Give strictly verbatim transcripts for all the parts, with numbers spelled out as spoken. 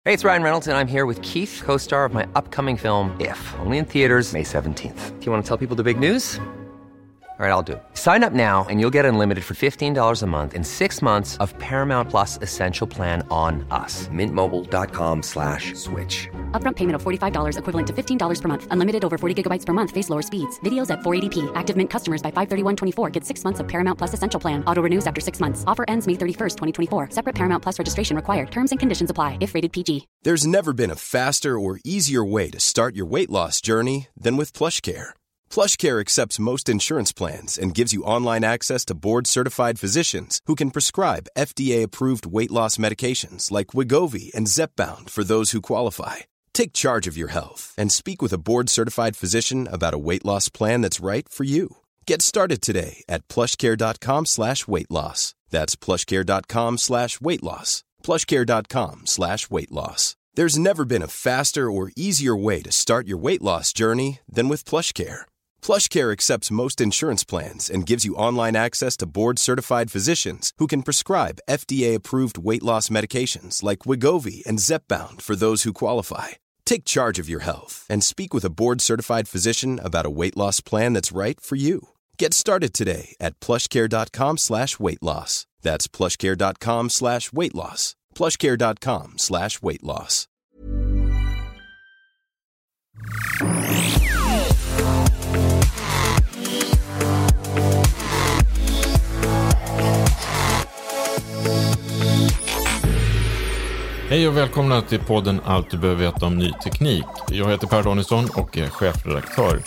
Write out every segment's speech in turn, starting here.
Hey, it's Ryan Reynolds, and I'm here with Keith, co-star of my upcoming film, If, only in theaters May seventeenth. Do you want to tell people the big news? All right, I'll do it. Sign up now and you'll get unlimited for fifteen dollars a month and six months of Paramount Plus Essential Plan on us. Mint Mobile dot com slash switch. Upfront payment of forty-five dollars equivalent to fifteen dollars per month. Unlimited over forty gigabytes per month. Face lower speeds. Videos at four eighty p. Active Mint customers by five thirty-one twenty-four get six months of Paramount Plus Essential Plan. Auto renews after six months. Offer ends May thirty-first, twenty twenty-four. Separate Paramount Plus registration required. Terms and conditions apply if rated P G. There's never been a faster or easier way to start your weight loss journey than with PlushCare. PlushCare accepts most insurance plans and gives you online access to board-certified physicians who can prescribe F D A-approved weight loss medications like Wegovy and Zepbound for those who qualify. Take charge of your health and speak with a board-certified physician about a weight loss plan that's right for you. Get started today at plushcare.com slash weight loss. That's plushcare.com slash weight loss. plushcare.com slash weight loss. There's never been a faster or easier way to start your weight loss journey than with PlushCare. PlushCare accepts most insurance plans and gives you online access to board-certified physicians who can prescribe F D A-approved weight loss medications like Wegovy and Zepbound for those who qualify. Take charge of your health and speak with a board-certified physician about a weight loss plan that's right for you. Get started today at plushcare.com slash weight loss. That's plushcare.com slash weight loss. plushcare.com slash weight loss. Hej och välkomna till podden Allt du behöver veta om ny teknik. Jag heter Per Danielsson och är chefredaktör.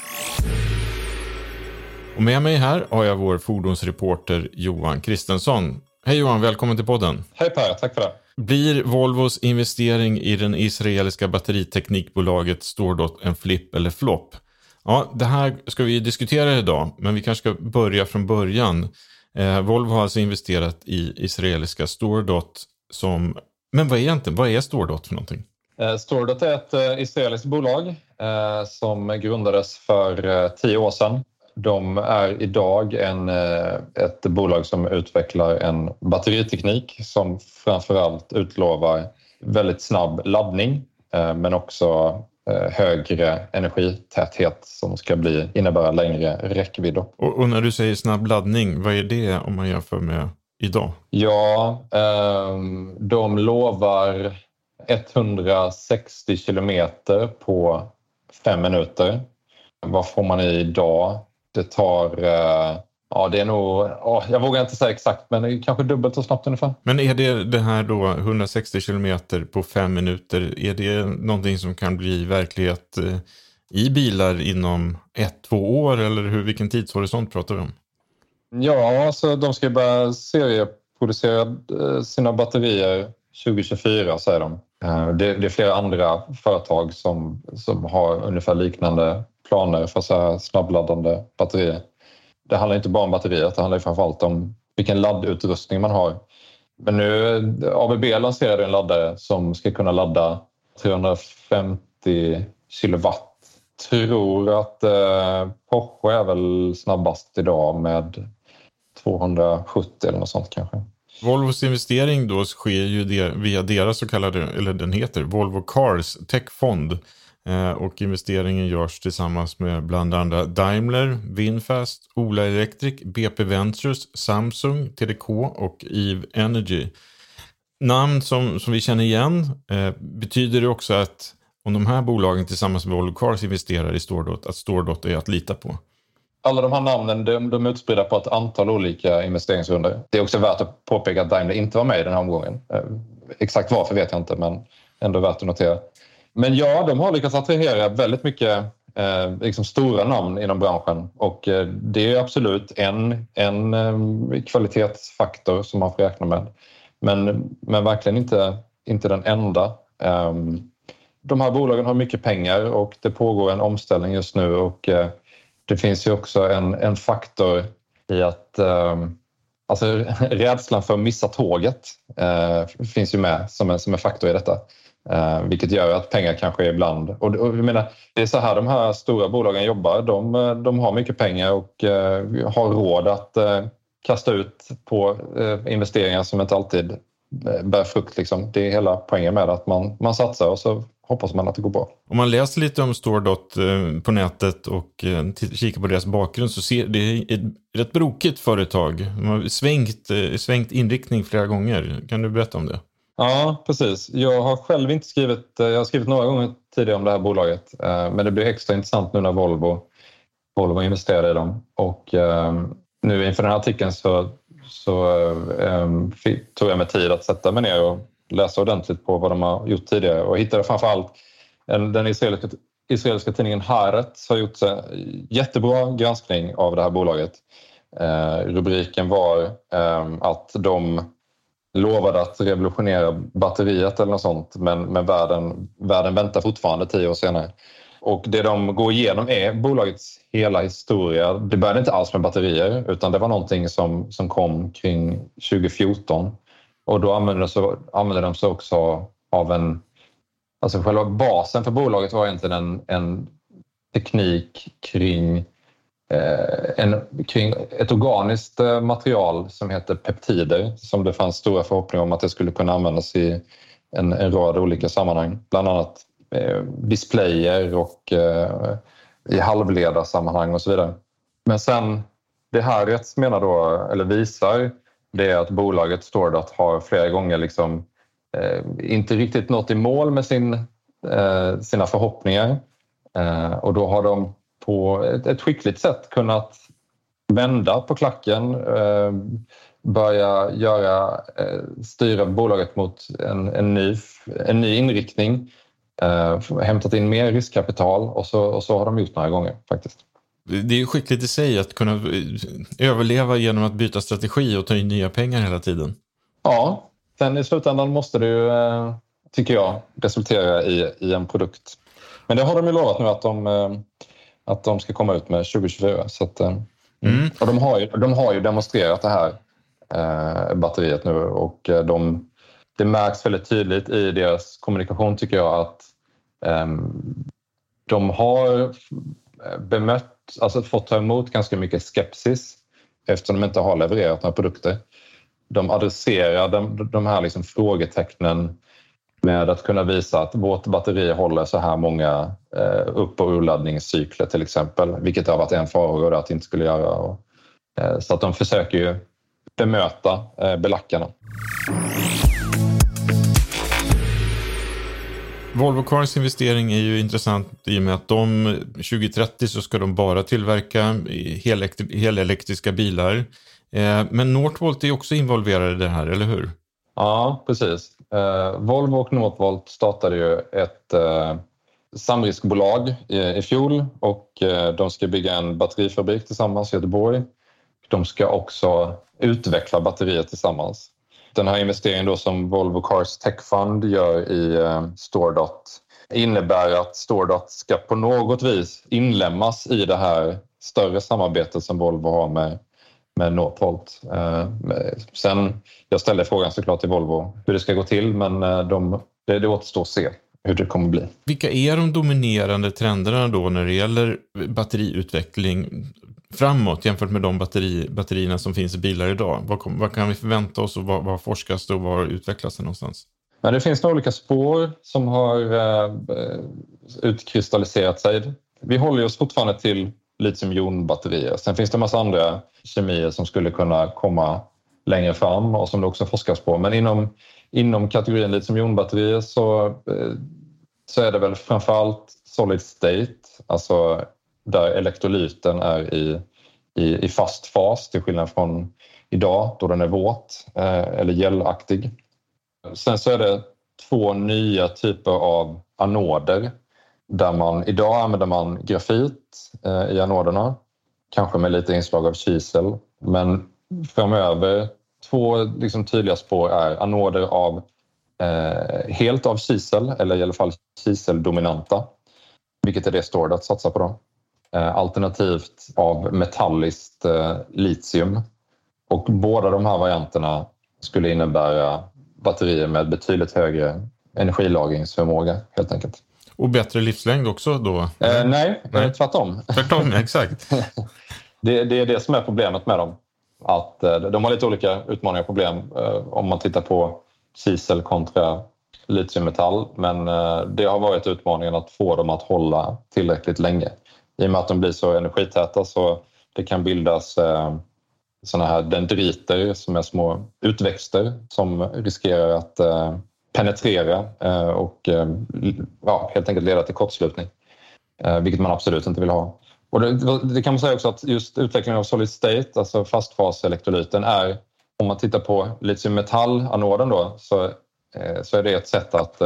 Och med mig här har jag vår fordonsreporter Johan Kristensson. Hej Johan, välkommen till podden. Hej Per, tack för det. Blir Volvos investering i den israeliska batteriteknikbolaget StoreDot en flipp eller flopp? Ja, det här ska vi diskutera idag, men vi kanske ska börja från början. Eh, Volvo har alltså investerat i israeliska StoreDot som... Men vad är egentligen, vad är StoreDot för någonting? Eh, StoreDot är ett eh, israeliskt bolag eh, som grundades för eh, tio år sedan. De är idag en, eh, ett bolag som utvecklar en batteriteknik som framförallt utlovar väldigt snabb laddning eh, men också eh, högre energitäthet som ska bli, innebära längre räckvidd. Och, och när du säger snabb laddning, vad är det om man jämför med idag? Ja, eh, de lovar etthundrasextio kilometer på fem minuter. Vad får man i idag? Det tar, eh, ja det är nog, oh, jag vågar inte säga exakt men kanske dubbelt så snabbt ungefär. Men är det det här då etthundrasextio kilometer på fem minuter, är det någonting som kan bli verklighet eh, i bilar inom ett, två år eller hur, vilken tidshorisont pratar vi om? Ja, alltså de ska börja serieproducera sina batterier tjugo tjugofyra säger de. Det, det är flera andra företag som, som har ungefär liknande planer för så här snabbladdande batterier. Det handlar inte bara om batterier, det handlar framförallt om vilken laddutrustning man har. Men nu, A B B lanserade en laddare som ska kunna ladda trehundrafemtio kilowatt. Tror att eh, Porsche är väl snabbast idag med tvåhundrasjuttio eller något sånt kanske. Volvos investering då sker ju det, via deras så kallade, eller den heter Volvo Cars Techfond. Eh, och investeringen görs tillsammans med bland andra Daimler, Vinfast, Ola Electric, B P Ventures, Samsung, T D K och Eve Energy. Namn som, som vi känner igen. Eh, betyder det också att om de här bolagen tillsammans med Volvo Cars investerar i StoreDot, att StoreDot är att lita på? Alla de här namnen de, de är utspridda på ett antal olika investeringsrunder. Det är också värt att påpeka att Daimler inte var med i den här omgången. Eh, exakt varför vet jag inte, men ändå värt att notera. Men ja, de har lyckats attrahera väldigt mycket eh, liksom stora namn inom branschen. Och eh, det är absolut en, en eh, kvalitetsfaktor som man får räkna med. Men, men verkligen inte, inte den enda. Eh, de här bolagen har mycket pengar och det pågår en omställning just nu. Och eh, det finns ju också en, en faktor i att eh, alltså, rädslan för att missa tåget eh, finns ju med som en, som en faktor i detta. Eh, vilket gör att pengar kanske ibland... Och, och jag menar, det är så här de här stora bolagen jobbar. De, de har mycket pengar och eh, har råd att eh, kasta ut på eh, investeringar som inte alltid bär frukt. Liksom. Det är hela poängen med att man, man satsar och så hoppas man att det går bra. Om man läser lite om StoreDot på nätet och kikar på deras bakgrund så ser det ett rätt brokigt företag. De har svängt, svängt inriktning flera gånger. Kan du berätta om det? Ja, precis. Jag har själv inte skrivit, jag har skrivit några gånger tidigare om det här bolaget. Men det blir extra intressant nu när Volvo, Volvo investerar i dem. Och nu inför den här artikeln så, så um, tog jag mig tid att sätta mig ner och läsa ordentligt på vad de har gjort tidigare. Och hittade framförallt en, den israeliska, israeliska tidningen Haaretz har gjort en jättebra granskning av det här bolaget. Uh, rubriken var um, att de lovade att revolutionera batteriet eller något sånt. Men, men världen, världen väntar fortfarande tio år senare. Och det de går igenom är bolagets hela historia. Det började inte alls med batterier utan det var någonting som, som kom kring tjugo fjorton. Och då använde de, så, använde de sig också av en... Alltså själva basen för bolaget var egentligen en, en teknik kring, eh, en, kring ett organiskt material som heter peptider. Som det fanns stora förhoppningar om att det skulle kunna användas i en, en rad olika sammanhang. Bland annat eh, displayer och eh, i halvledarsammanhang och så vidare. Men sen, det här rätt menar då, eller visar... Det är att bolaget StoreDot har flera gånger liksom, eh, inte riktigt nått i mål med sin, eh, sina förhoppningar. Eh, och då har de på ett, ett skickligt sätt kunnat vända på klacken. Eh, börja göra, eh, styra bolaget mot en, en, ny, en ny inriktning. Eh, hämtat in mer riskkapital och så, och så har de gjort några gånger faktiskt. Det är ju skickligt i sig att kunna överleva genom att byta strategi och ta in nya pengar hela tiden. Ja, sen i slutändan måste det ju, tycker jag, resultera i, i en produkt. Men det har de ju lovat nu att de, att de ska komma ut med tjugo tjugofyra. Så att, mm. Och de har, ju, de har ju demonstrerat det här eh, batteriet nu och de, det märks väldigt tydligt i deras kommunikation tycker jag att eh, de har bemött, alltså fått ta emot ganska mycket skepsis eftersom de inte har levererat några produkter. De adresserar de, de här liksom frågetecknen med att kunna visa att vårt batteri håller så här många eh, upp- och urladdningscykler till exempel, vilket har varit en farhåga att det inte skulle göra. Och, eh, så att de försöker ju bemöta eh, belackarna. Volvo Cars investering är ju intressant i och med att de tjugo trettio så ska de bara tillverka helelektriska bilar. Men Northvolt är också involverade i det här, eller hur? Ja, precis. Volvo och Northvolt startade ju ett samriskbolag i fjol och de ska bygga en batterifabrik tillsammans i Göteborg. De ska också utveckla batterier tillsammans. Den här investeringen då som Volvo Cars Tech Fund gör i eh, StoreDot innebär att StoreDot ska på något vis inlämnas i det här större samarbetet som Volvo har med, med Northvolt. Eh, sen, jag ställde frågan såklart till Volvo hur det ska gå till men eh, de, det, det återstår att se hur det kommer bli. Vilka är de dominerande trenderna då när det gäller batteriutveckling framåt jämfört med de batteri, batterierna som finns i bilar idag? Vad, kom, vad kan vi förvänta oss och vad, vad forskas det och var utvecklas det någonstans? Men det finns några olika spår som har eh, utkristalliserat sig. Vi håller oss fortfarande till litiumjonbatterier. Sen finns det en massa andra kemier som skulle kunna komma längre fram och som det också forskas på. Men inom, inom kategorin litiumjonbatterier så, eh, så är det väl framförallt solid state, alltså där elektrolyten är i, i, i fast fas till skillnad från idag då den är våt eh, eller gelaktig. Sen så är det två nya typer av anoder där man idag använder man grafit eh, i anoderna, kanske med lite inslag av kisel, men framöver två liksom, tydliga spår är anoder av eh, helt av kisel eller i alla fall kiseldominanta, vilket är det StoreDot satsar på då. Alternativt av metalliskt eh, litium. Och båda de här varianterna skulle innebära batterier med betydligt högre energilagringsförmåga helt enkelt. Och bättre livslängd också då? Eh, nej, nej, tvärtom. Tvärtom, exakt. det, det är det som är problemet med dem. Att eh, de har lite olika utmaningar och problem. Eh, om man tittar på kisel kontra litiummetall, men det har varit utmaningen att få dem att hålla tillräckligt länge. I och med att de blir så energitäta så det kan bildas såna här dendriter som är små utväxter som riskerar att penetrera och ja, helt enkelt leda till kortslutning, vilket man absolut inte vill ha. Och det, det kan man säga också att just utvecklingen av solid state, alltså fastfaselektrolyten, är, om man tittar på litiummetallanoden då, så, så är det ett sätt att,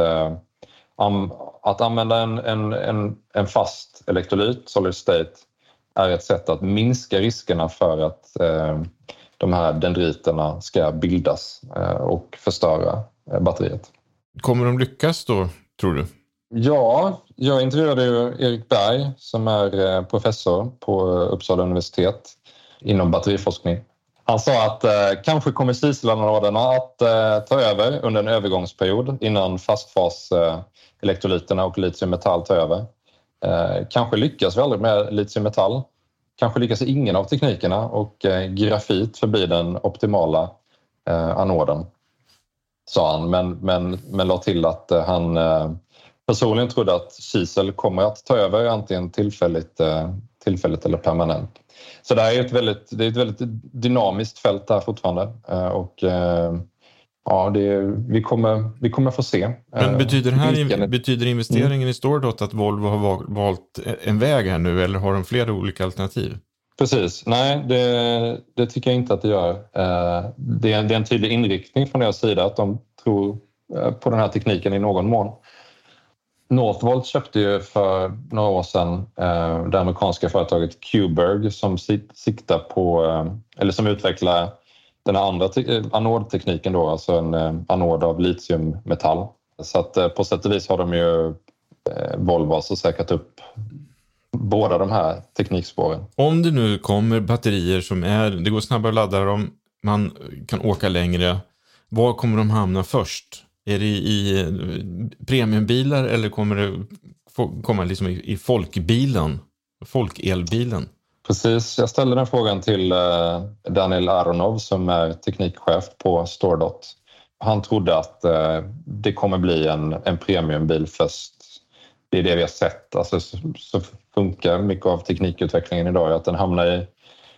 att använda en, en, en, en fast elektrolyt, solid state, är ett sätt att minska riskerna för att eh, de här dendriterna ska bildas eh, och förstöra eh, batteriet. Kommer de lyckas då, tror du? Ja, jag intervjuade ju Erik Berg som är eh, professor på Uppsala universitet inom batteriforskning. Han sa att eh, kanske kommer kiselanoderna att eh, ta över under en övergångsperiod innan fastfaselektrolyterna eh, och litiummetall tar över. Eh, kanske lyckas vi aldrig med litiummetall. Kanske lyckas ingen av teknikerna och eh, grafit förblir den optimala eh, anoden, sa han. Men, men, men la till att eh, han eh, personligen trodde att kisel kommer att ta över antingen tillfälligt, eh, tillfälligt eller permanent. Så det är ett väldigt, det är ett väldigt dynamiskt fält där fortfarande. Eh, och eh, ja, det, vi, kommer, vi kommer få se. Men betyder, det här, betyder investeringen mm. i StoreDot att Volvo har valt en väg här nu, eller har de flera olika alternativ? Precis. Nej, det, det tycker jag inte att det gör. Det är, det är en tydlig inriktning från deras sida att de tror på den här tekniken i någon mån. Northvolt köpte ju för några år sedan det amerikanska företaget Q-Berg som siktar på, eller som utvecklar den andra te- anodtekniken då, alltså en eh, anod av litiummetall. Så att eh, på sätt och vis har de ju eh, Volvo så säkrat upp båda de här teknikspåren. Om det nu kommer batterier som är, det går snabbare att ladda dem, man kan åka längre, var kommer de hamna först? Är det i premiumbilar eller kommer det komma liksom i, i folkbilen, folkelbilen? Precis, jag ställde den frågan till Daniel Aronov som är teknikchef på StoreDot. Han trodde att det kommer bli en, en premiumbil först. Det är det vi har sett. Alltså, så, så funkar mycket av teknikutvecklingen idag, att den hamnar i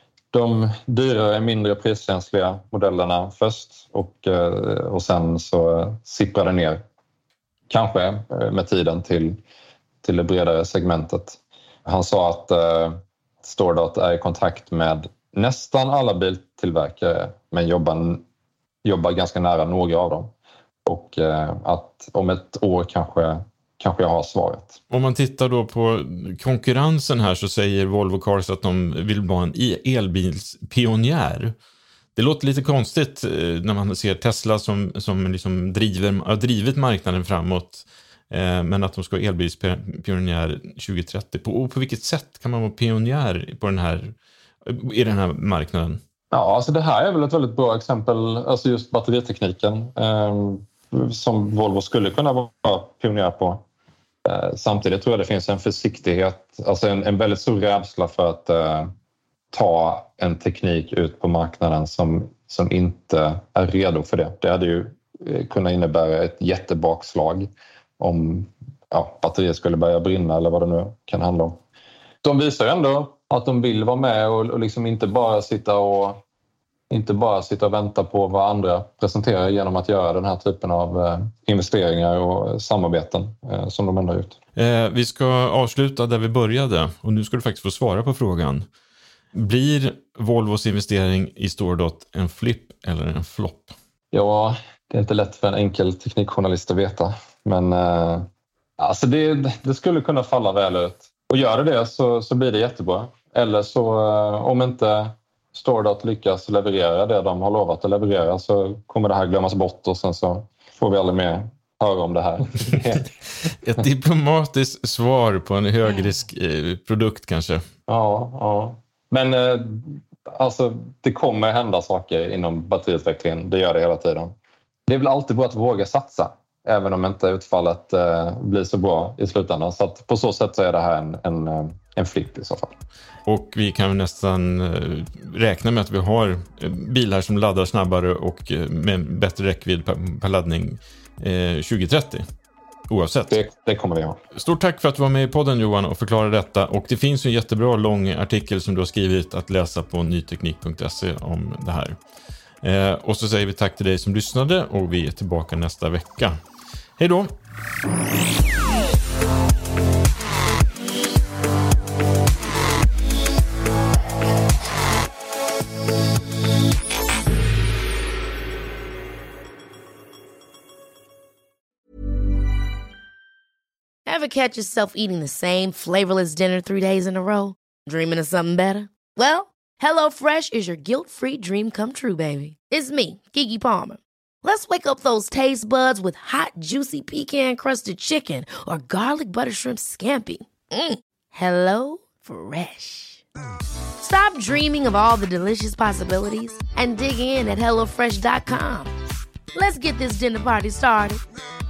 de dyrare, mindre priskänsliga modellerna först och, och sen så sipprar det ner, kanske med tiden, till, till det bredare segmentet. Han sa att StoreDot är i kontakt med nästan alla biltillverkare men jobbar, jobbar ganska nära några av dem. Och eh, att om ett år kanske, kanske jag har svaret. Om man tittar då på konkurrensen här så säger Volvo Cars att de vill vara en elbilspionjär. Det låter lite konstigt när man ser Tesla som, som liksom driver, har drivit marknaden framåt. Men att de ska vara elbilspionjär tjugo trettio. På, på vilket sätt kan man vara pionjär på den här, i den här marknaden? Ja, alltså det här är väl ett väldigt bra exempel. Alltså just batteritekniken eh, som Volvo skulle kunna vara pionjär på. Eh, samtidigt tror jag det finns en försiktighet, alltså en, en väldigt stor rädsla för att eh, ta en teknik ut på marknaden som, som inte är redo för det. Det hade ju kunnat innebära ett jättebakslag om ja, batteriet skulle börja brinna eller vad det nu kan handla om. De visar ju ändå att de vill vara med och, och liksom inte bara sitta och inte bara sitta och vänta på vad andra presenterar genom att göra den här typen av eh, investeringar och samarbeten eh, som de ändå har gjort. Eh, vi ska avsluta där vi började och nu ska du faktiskt få svara på frågan. Blir Volvos investering i StoreDot en flipp eller en flopp? Ja, det är inte lätt för en enkel teknikjournalist att veta. Men eh, alltså det, det skulle kunna falla väl ut. Och gör det så, så blir det jättebra. Eller så eh, om inte StoreDot lyckas leverera det de har lovat att leverera så kommer det här glömmas bort och sen så får vi aldrig mer höra om det här. Ett diplomatiskt svar på en högrisk eh, produkt kanske. Ja, ja. Men eh, alltså det kommer hända saker inom batteriutvecklingen. Det gör det hela tiden. Det är väl alltid bra att våga satsa. även om inte utfallet eh, blir så bra i slutändan. Så att på så sätt så är det här en, en, en flipp i så fall. Och vi kan nästan räkna med att vi har bilar som laddar snabbare och med bättre räckvidd per, per laddning eh, tjugo trettio. Oavsett. Det, det kommer vi ha. Stort tack för att du var med i podden, Johan, och förklarade detta. Och det finns ju en jättebra lång artikel som du har skrivit att läsa på nyteknik punkt se om det här. Eh, och så säger vi tack till dig som lyssnade och vi är tillbaka nästa vecka. Hej då! Ever catch yourself eating the same flavorless dinner three days in a row? Dreaming of something better? Well, HelloFresh is your guilt-free dream come true, baby. It's me, Keke Palmer. Let's wake up those taste buds with hot, juicy pecan-crusted chicken or garlic butter shrimp scampi. Mm. Hello Fresh. Stop dreaming of all the delicious possibilities and dig in at hello fresh dot com. Let's get this dinner party started.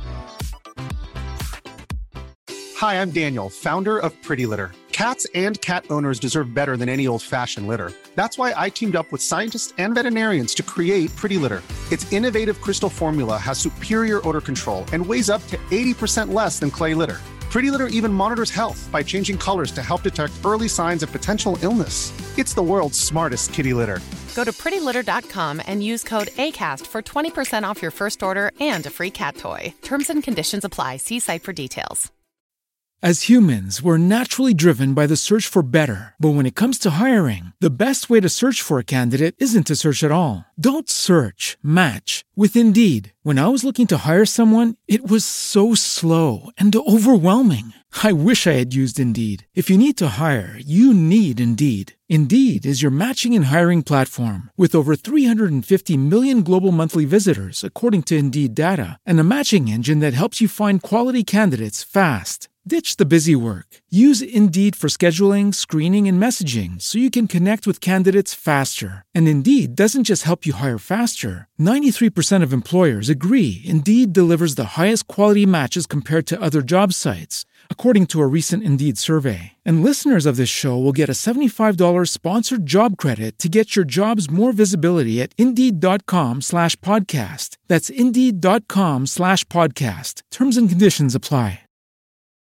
Hi, I'm Daniel, founder of Pretty Litter. Cats and cat owners deserve better than any old-fashioned litter. That's why I teamed up with scientists and veterinarians to create Pretty Litter. Its innovative crystal formula has superior odor control and weighs up to eighty percent less than clay litter. Pretty Litter even monitors health by changing colors to help detect early signs of potential illness. It's the world's smartest kitty litter. Go to pretty litter dot com and use code ACAST for twenty percent off your first order and a free cat toy. Terms and conditions apply. See site for details. As humans, we're naturally driven by the search for better. But when it comes to hiring, the best way to search for a candidate isn't to search at all. Don't search, match with Indeed. When I was looking to hire someone, it was so slow and overwhelming. I wish I had used Indeed. If you need to hire, you need Indeed. Indeed is your matching and hiring platform with over three hundred fifty million global monthly visitors, according to Indeed data, and a matching engine that helps you find quality candidates fast. Ditch the busy work. Use Indeed for scheduling, screening, and messaging so you can connect with candidates faster. And Indeed doesn't just help you hire faster. ninety-three percent of employers agree Indeed delivers the highest quality matches compared to other job sites, according to a recent Indeed survey. And listeners of this show will get a seventy-five dollars sponsored job credit to get your jobs more visibility at Indeed.com slash podcast. That's Indeed.com slash podcast. Terms and conditions apply.